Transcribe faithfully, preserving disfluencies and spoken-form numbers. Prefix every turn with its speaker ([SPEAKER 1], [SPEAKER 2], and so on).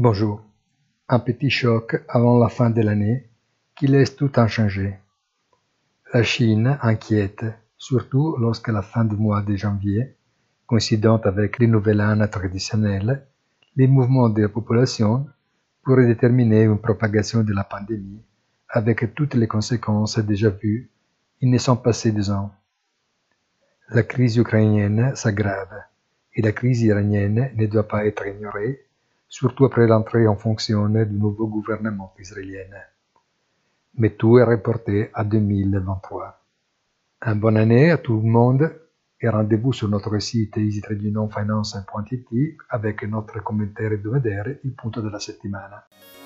[SPEAKER 1] Bonjour. Un petit choc avant la fin de l'année qui laisse tout inchangé. La Chine inquiète, surtout lorsque la fin du mois de janvier, coïncidant avec le nouvel an traditionnel, les mouvements de la population pourraient déterminer une propagation de la pandémie avec toutes les conséquences déjà vues. Ils ne sont passés deux ans. La crise ukrainienne s'aggrave et la crise iranienne ne doit pas être ignorée, surtout après l'entrée en fonction du nouveau gouvernement israélien. Mais tout est reporté à deux mille vingt-trois. Une bonne année à tout le monde et rendez-vous sur notre site easy trading finance punto it avec notre commentaire hebdomadaire, il punto della settimana.